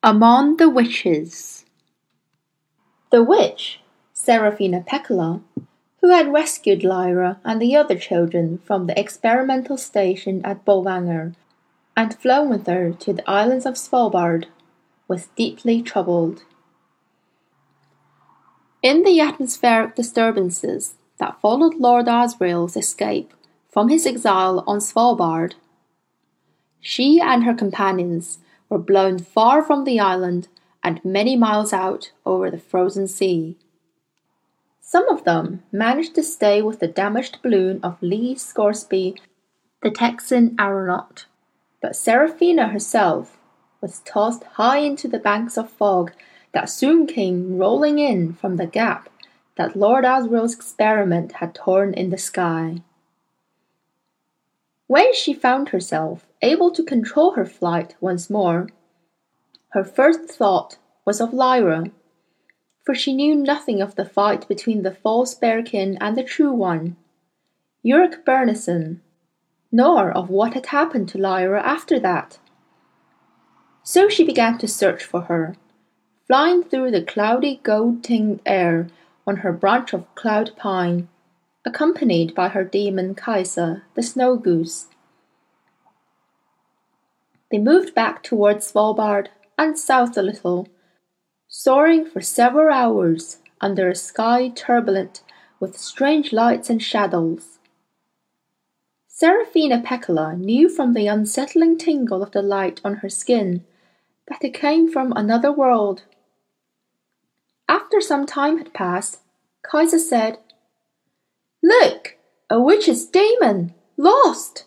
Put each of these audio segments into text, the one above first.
Among the Witches. The witch, Serafina Pekkala, who had rescued Lyra and the other children from the experimental station at Bolvangar and flown with her to the islands of Svalbard, was deeply troubled. In the atmospheric disturbances that followed Lord Asriel's escape from his exile on Svalbard, she and her companions were blown far from the island and many miles out over the frozen sea. Some of them managed to stay with the damaged balloon of Lee Scoresby, the Texan aeronaut, but Serafina herself was tossed high into the banks of fog that soon came rolling in from the gap that Lord Asriel's experiment had torn in the sky. When she found herself able to control her flight once more, her first thought was of Lyra, for she knew nothing of the fight between the false bearkin and the true one, Ulric Byrnison, nor of what had happened to Lyra after that. So she began to search for her, flying through the cloudy gold-tinged air on her branch of cloud pine, accompanied by her demon Kaisa, the snow goose. They moved back towards Svalbard and south a little, soaring for several hours under a sky turbulent with strange lights and shadows. Serafina Pekkala knew from the unsettling tingle of the light on her skin that it came from another world. After some time had passed, Kaisa said, "Look, a witch's demon! Lost!"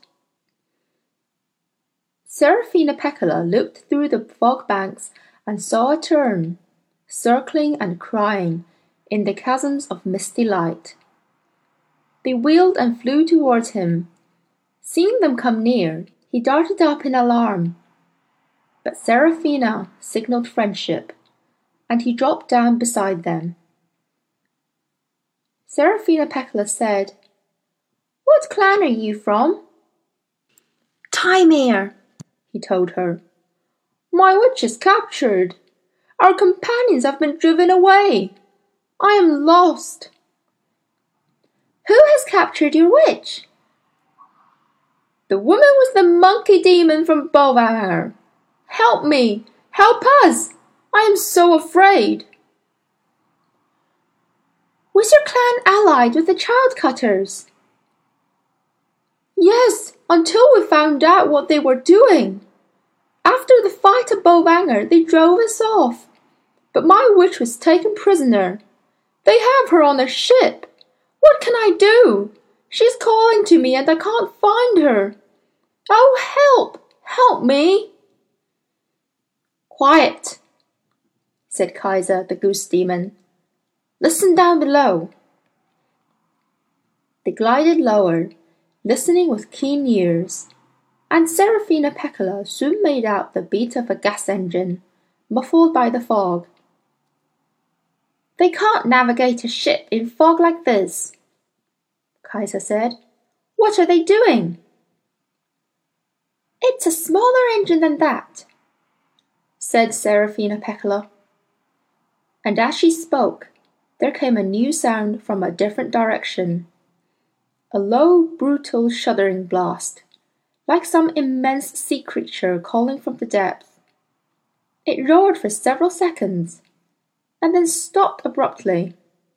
Serafina Pekkala looked through the fog banks and saw a tern, circling and crying in the chasms of misty light. They wheeled and flew towards him. Seeing them come near, he darted up in alarm. But Serafina signalled friendship, and he dropped down beside them. Serafina Pekkala said, "What clan are you from?" "Tymir," he told her. "My witch is captured. Our companions have been driven away. I am lost." "Who has captured your witch?" "The woman was the monkey demon from Bolvangar. Help me! Help us! I am so afraid." "Was your clan allied with the child cutters?" "Yes, until we found out what they were doing. After the fight at Bolvangar, they drove us off. But my witch was taken prisoner. They have her on a ship. What can I do? She's calling to me and I can't find her. Oh, help! Help me!" "Quiet," said Kaisa the goose demon. "Listen down below." They glided lower, listening with keen ears, and Serafina Pekkala soon made out the beat of a gas engine, muffled by the fog. "They can't navigate a ship in fog like this," Kaisa said. "What are they doing?" "It's a smaller engine than that," said Serafina Pekkala. And as she spoke, there came a new sound from a different direction. A low, brutal, shuddering blast, like some immense sea creature calling from the depths. It roared for several seconds, and then stopped abruptly.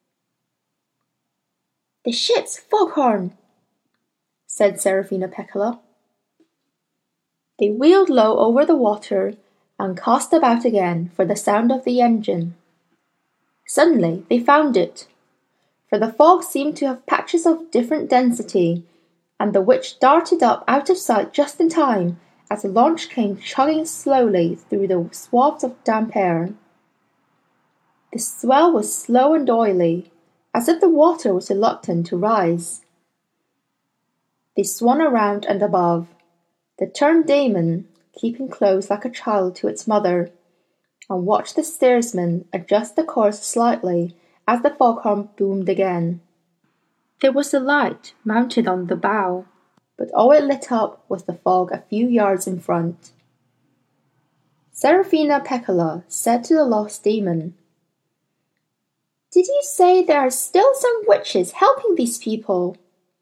"The ship's foghorn," said Serafina Pekkala. They wheeled low over the water and cast about again for the sound of the engine. Suddenly they found it, for the fog seemed to have patches of different density, and the witch darted up out of sight just in time as the launch came chugging slowly through the swathes of damp air. The swell was slow and oily, as if the water was reluctant to rise. They swung around and above, the turned demon keeping close like a child to its mother, and watched the steersman adjust the course slightly as the foghorn boomed again. There was a light mounted on the bow, but all it lit up was the fog a few yards in front. Serafina Pekkala said to the lost demon, "Did you say there are still some witches helping these people?"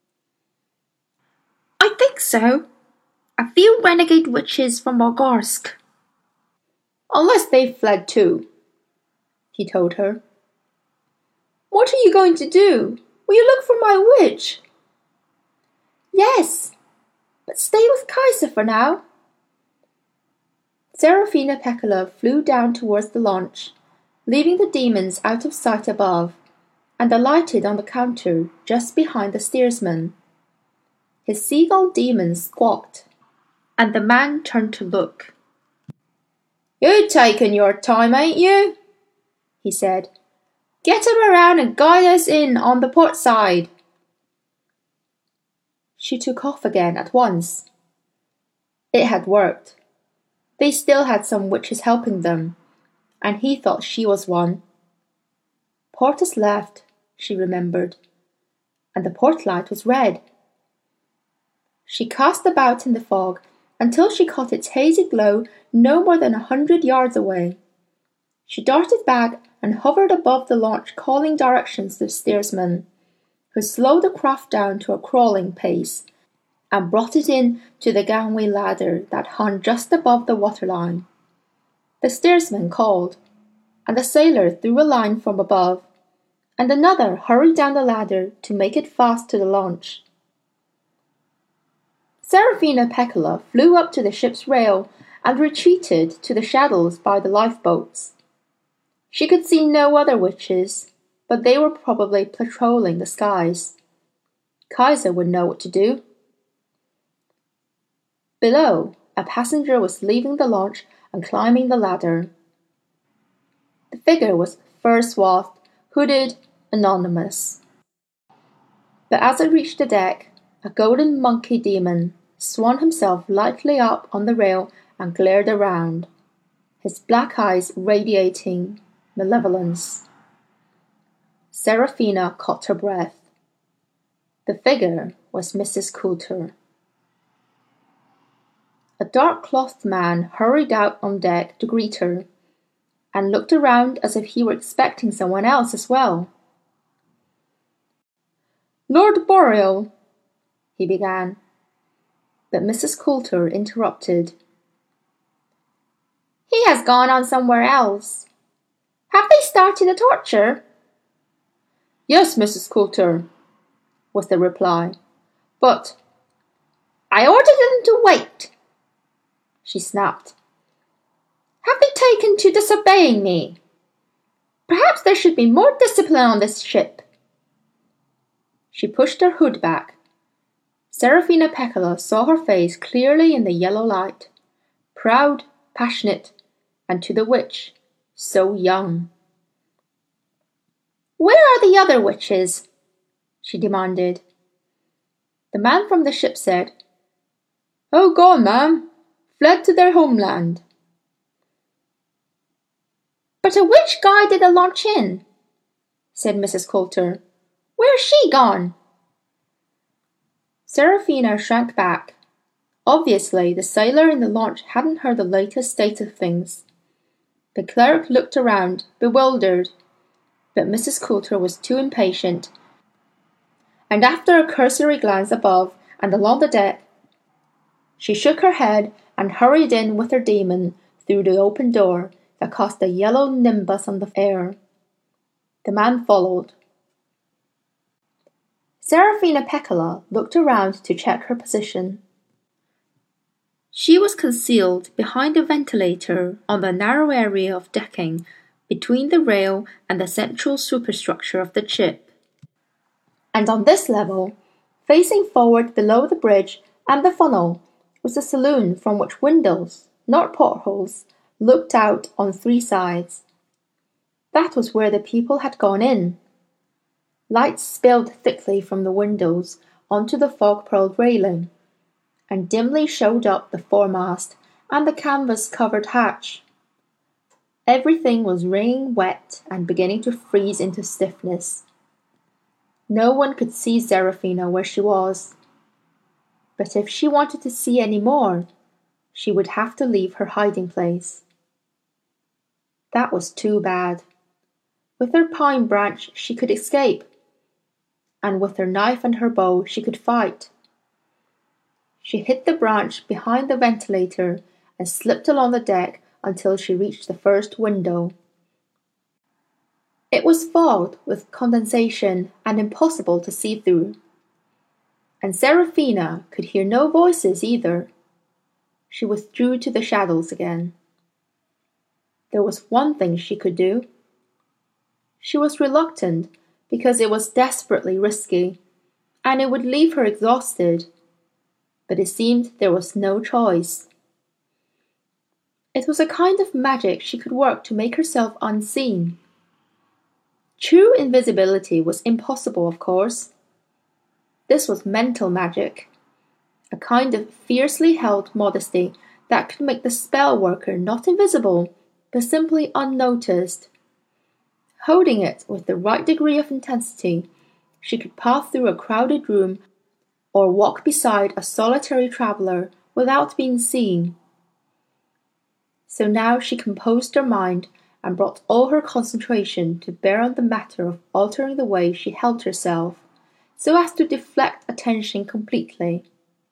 "I think so. A few renegade witches from Morgorsk." "Unless they've fled too," he told her. "What are you going to do? Will you look for my witch?" "Yes, but stay with Kaiser for now." Serafina Pekkala flew down towards the launch, leaving the demons out of sight above, and alighted on the counter just behind the steersman. His seagull demon squawked, and the man turned to look. "You're taking your time, ain't you?" he said. "Get him around and guide us in on the port side." She took off again at once. It had worked. They still had some witches helping them, and he thought she was one. Portus left, she remembered, and the port light was red. She cast about in the fog until she caught its hazy glow no more than 100 yards away. She darted back and hovered above the launch, calling directions to the steersman, who slowed the craft down to a crawling pace and brought it in to the gangway ladder that hung just above the waterline. The steersman called, and the sailor threw a line from above, and another hurried down the ladder to make it fast to the launch. Serafina Pekkala flew up to the ship's rail and retreated to the shadows by the lifeboats. She could see no other witches, but they were probably patrolling the skies. Kaiser would know what to do. Below, a passenger was leaving the launch and climbing the ladder. The figure was fur-swathed, hooded, anonymous. But as it reached the deck, a golden monkey demon swung himself lightly up on the rail and glared around, his black eyes radiating malevolence. Serafina caught her breath. The figure was Mrs. Coulter. A dark-clothed man hurried out on deck to greet her, and looked around as if he were expecting someone else as well. "Lord Boreal," he began, but Mrs. Coulter interrupted. "He has gone on somewhere else. Have they started a torture?" "Yes, Mrs. Coulter," was the reply, "but—" "I ordered them to wait," she snapped. "Have they taken to disobeying me? Perhaps there should be more discipline on this ship." She pushed her hood back. Serafina Pekkala saw her face clearly in the yellow light, proud, passionate, and to the witch, so young. "Where are the other witches?" she demanded. The man from the ship said, "Oh, gone, ma'am. Fled to their homeland." "But a witch guided the launch in," said Mrs. Coulter. "Where's she gone?" Serafina shrank back. Obviously, the sailor in the launch hadn't heard the latest state of things. The cleric looked around, bewildered, but Mrs. Coulter was too impatient, and after a cursory glance above and along the deck, she shook her head and hurried in with her demon through the open door that cast a yellow nimbus on the air. The man followed. Serafina Pekkala looked around to check her position. She was concealed behind a ventilator on the narrow area of decking between the rail and the central superstructure of the ship. And on this level, facing forward below the bridge and the funnel, was a saloon from which windows, not portholes, looked out on 3 sides. That was where the people had gone in. Light spilled thickly from the windows onto the fog-pearled railing, and dimly showed up the foremast and the canvas-covered hatch. Everything was wringing wet and beginning to freeze into stiffness. No one could see Serafina where she was. But if she wanted to see any more, she would have to leave her hiding place. That was too bad. With her pine branch she could escape, and with her knife and her bow she could fight. She hid the branch behind the ventilator and slipped along the deck until she reached the first window. It was fogged with condensation and impossible to see through. And Seraphina could hear no voices either. She withdrew to the shadows again. There was one thing she could do. She was reluctant because it was desperately risky, and it would leave her exhausted. But it seemed there was no choice. It was a kind of magic she could work to make herself unseen. True invisibility was impossible, of course. This was mental magic, a kind of fiercely held modesty that could make the spell worker not invisible, but simply unnoticed. Holding it with the right degree of intensity, she could pass through a crowded room or walk beside a solitary traveller without being seen. So now she composed her mind and brought all her concentration to bear on the matter of altering the way she held herself, so as to deflect attention completely.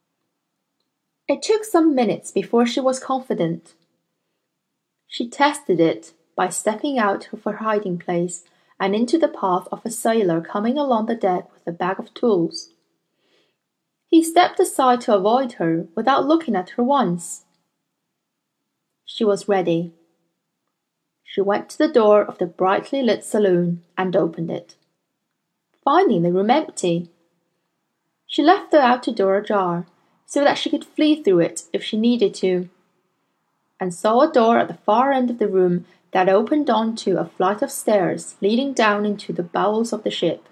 It took some minutes before she was confident. She tested it by stepping out of her hiding place and into the path of a sailor coming along the deck with a bag of tools. He stepped aside to avoid her without looking at her once. She was ready. She went to the door of the brightly lit saloon and opened it, finding the room empty. She left the outer door ajar so that she could flee through it if she needed to, and saw a door at the far end of the room that opened onto a flight of stairs leading down into the bowels of the ship.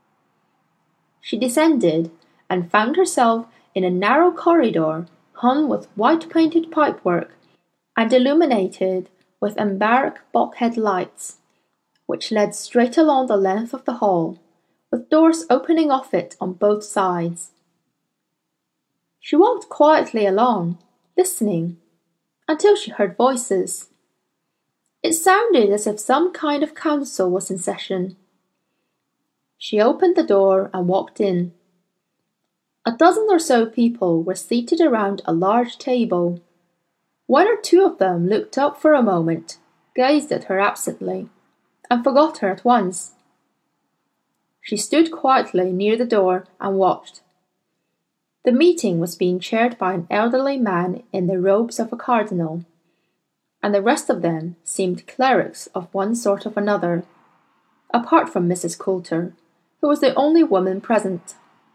She descended and found herself in a narrow corridor hung with white-painted pipework and illuminated with embarrass bulkhead lights, which led straight along the length of the hall, with doors opening off it on both sides. She walked quietly along, listening, until she heard voices. It sounded as if some kind of council was in session. She opened the door and walked in. A dozen or so people were seated around a large table. One or two of them looked up for a moment, gazed at her absently, and forgot her at once. She stood quietly near the door and watched. The meeting was being chaired by an elderly man in the robes of a cardinal, and the rest of them seemed clerics of one sort or another, apart from Mrs. Coulter, who was the only woman present.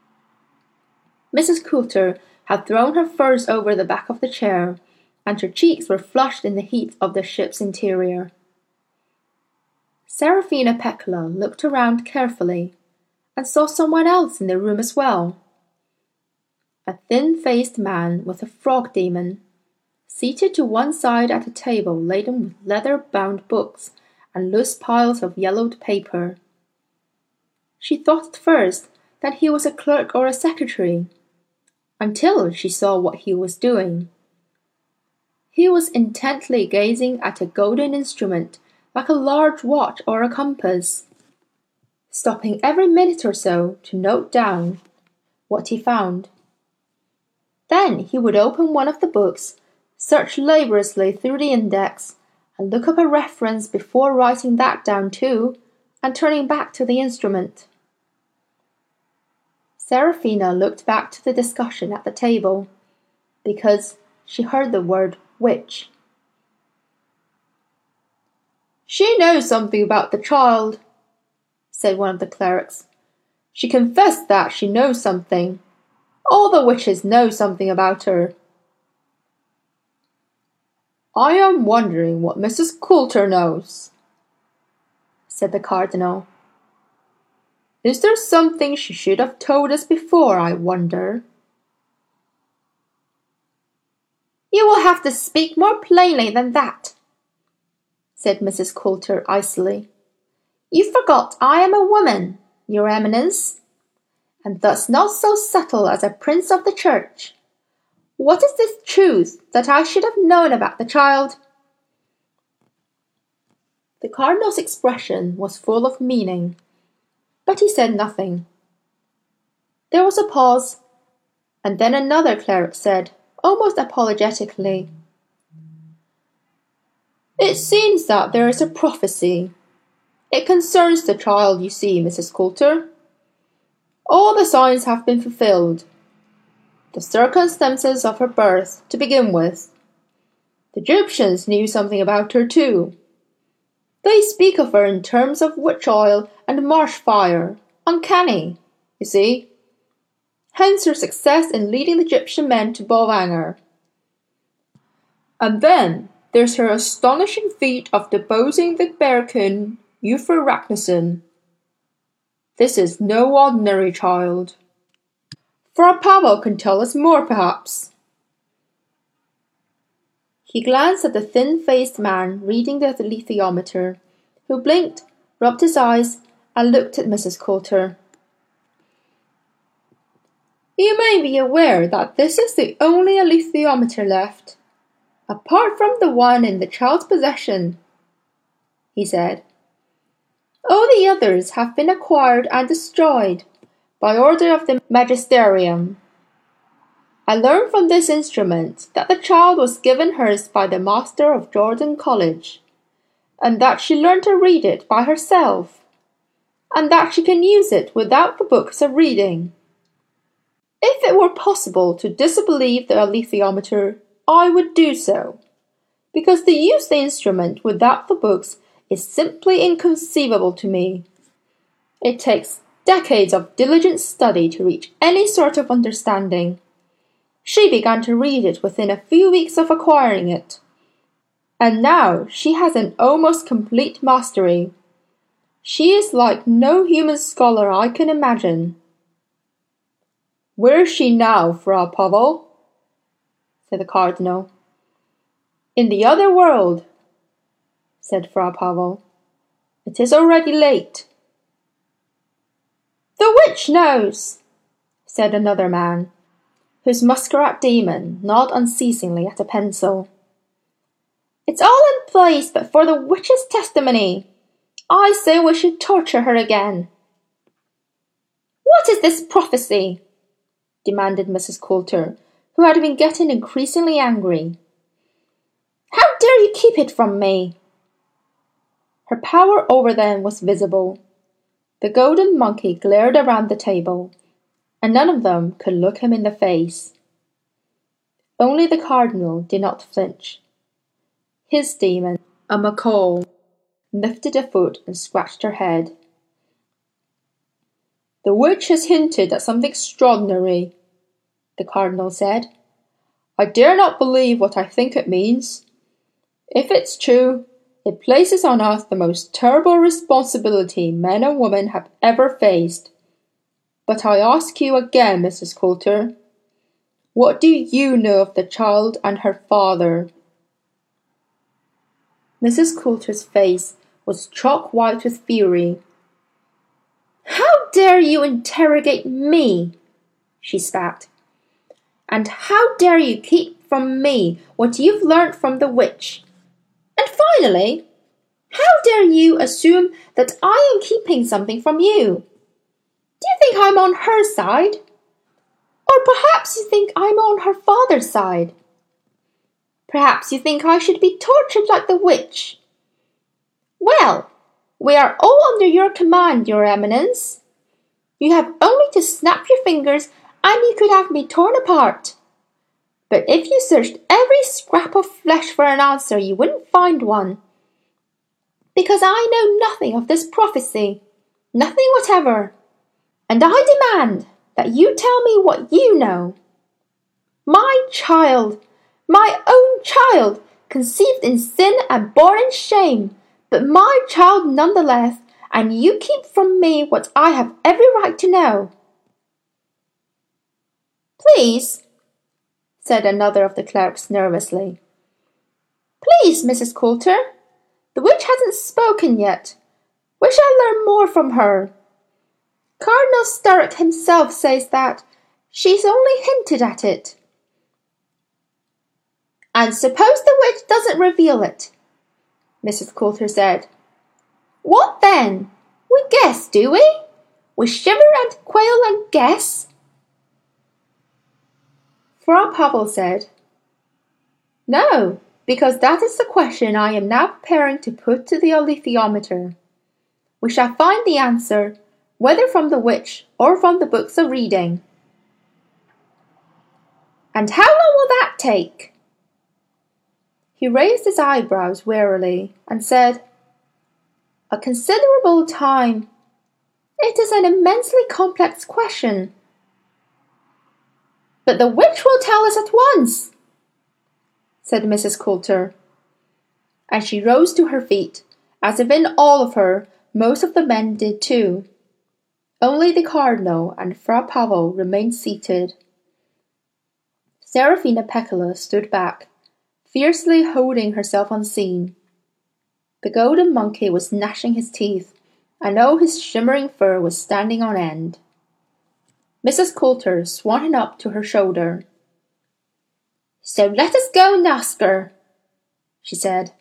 Mrs. Coulter had thrown her furs over the back of the chair, and her cheeks were flushed in the heat of the ship's interior. Seraphina Pekkala looked around carefully, and saw someone else in the room as well. A thin-faced man with a frog demon, seated to one side at a table laden with leather-bound books and loose piles of yellowed paper. She thought at first that he was a clerk or a secretary, until she saw what he was doing. He was intently gazing at a golden instrument like a large watch or a compass, stopping every minute or so to note down what he found. Then he would open one of the books, search laboriously through the index, and look up a reference before writing that down too, and turning back to the instrument. Seraphina looked back to the discussion at the table, because she heard the word witch. "She knows something about the child," said one of the clerics. "She confessed that she knows something. All the witches know something about her." "I am wondering what Mrs. Coulter knows," said the cardinal. "Is there something she should have told us before, I wonder?" "You will have to speak more plainly than that," said Mrs. Coulter icily. "You forgot I am a woman, your eminence, and thus not so subtle as a prince of the church. What is this truth that I should have known about the child?" The cardinal's expression was full of meaning, but he said nothing. There was a pause, and then another cleric said, almost apologetically, "It seems that there is a prophecy. It concerns the child, you see, Mrs. Coulter. All the signs have been fulfilled. The circumstances of her birth, to begin with. The Egyptians knew something about her too. They speak of her in terms of witch oil and marsh fire. Uncanny, you see. Hence her success in leading the Egyptian men to Bolvangar. And then there's her astonishing feat of deposing the Bearkin Eupher Ragnarsson. This is no ordinary child. Fra Pavel can tell us more, perhaps." He glanced at the thin-faced man reading the alethiometer, who blinked, rubbed his eyes, and looked at Mrs. Coulter. "You may be aware that this is the only alethiometer left, apart from the one in the child's possession," he said. "All the others have been acquired and destroyed by order of the magisterium. I learned from this instrument that the child was given hers by the master of Jordan College, and that she learned to read it by herself, and that she can use it without the books of reading. If it were possible to disbelieve the alethiometer, I would do so, because to use the instrument without the books is simply inconceivable to me. It takes decades of diligent study to reach any sort of understanding. She began to read it within a few weeks of acquiring it, and now she has an almost complete mastery. She is like no human scholar I can imagine." "Where is she now, Fra Pavel?" said the cardinal. "In the other world," said Fra Pavel. "It is already late." "The witch knows," said another man, whose muscular demon gnawed unceasingly at a pencil. "It's all in place but for the witch's testimony. I say we should torture her again." "What is this prophecy?" demanded Mrs. Coulter, who had been getting increasingly angry. "How dare you keep it from me?" Her power over them was visible. The golden monkey glared around the table, and none of them could look him in the face. Only the cardinal did not flinch. His demon, a macaw, lifted a foot and scratched her head. "The witch has hinted at something extraordinary," the cardinal said. "I dare not believe what I think it means. If it's true, it places on us the most terrible responsibility men and women have ever faced. But I ask you again, Mrs. Coulter, what do you know of the child and her father?" Mrs. Coulter's face was chalk white with fury. "How dare you interrogate me?" she spat. "And how dare you keep from me what you've learnt from the witch? And finally, how dare you assume that I am keeping something from you? Do you think I'm on her side? Or perhaps you think I'm on her father's side? Perhaps you think I should be tortured like the witch? Well, we are all under your command, your eminence. You have only to snap your fingers and you could have me torn apart. But if you searched every scrap of flesh for an answer, you wouldn't find one. Because I know nothing of this prophecy, nothing whatever. And I demand that you tell me what you know. My child, my own child, conceived in sin and born in shame, but my child nonetheless, and you keep from me what I have every right to know." "Please," said another of the clerics nervously. "Please, Mrs. Coulter, the witch hasn't spoken yet. We shall learn more from her. Cardinal Sturrock himself says that she's only hinted at it." "And suppose the witch doesn't reveal it," Mrs. Coulter said. What then? We guess, do we? We shiver and quail and guess? Frau Pavel said, No, because that is the question I am now preparing to put to the alethiometer. We shall find the answer, whether from the witch or from the books of reading. And how long will that take? He raised his eyebrows warily and said, A considerable time. It is an immensely complex question. But the witch will tell us at once, said Mrs. Coulter. And she rose to her feet, as if in awe of her most of the men did too. Only the Cardinal and Frau Pavel remained seated. Serafina Pekkala stood back, fiercely holding herself unseen. The golden monkey was gnashing his teeth, and all his shimmering fur was standing on end. Mrs. Coulter swung him up to her shoulder. So let us go and ask her, she said.